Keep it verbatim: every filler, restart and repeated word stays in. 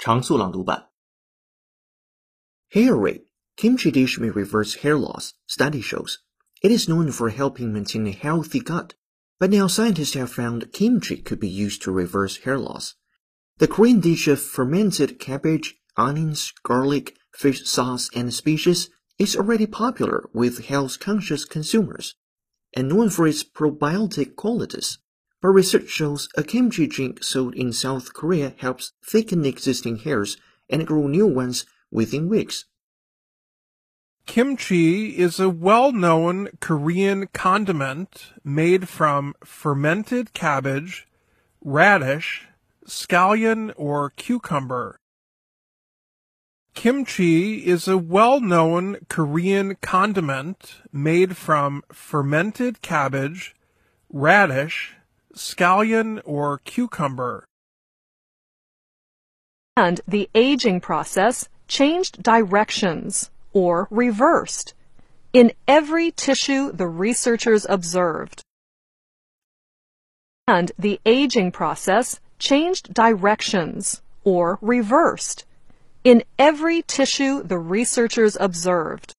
常速朗读版 Hair rate. Kimchi dish may reverse hair loss, study shows. It is known for helping maintain a healthy gut, but now scientists have found kimchi could be used to reverse hair loss. The Korean dish of fermented cabbage, onions, garlic, fish sauce, and species is already popular with health-conscious consumers, and known for its probiotic qualities. But research shows a kimchi drink sold in South Korea helps thicken existing hairs and grow new ones within weeks. Kimchi is a well-known Korean condiment made from fermented cabbage, radish, scallion, or cucumber. Kimchi is a well-known Korean condiment made from fermented cabbage, radish, scallion, or cucumber. And the aging process changed directions, or reversed, in every tissue the researchers observed. And the aging process changed directions, or reversed, in every tissue the researchers observed.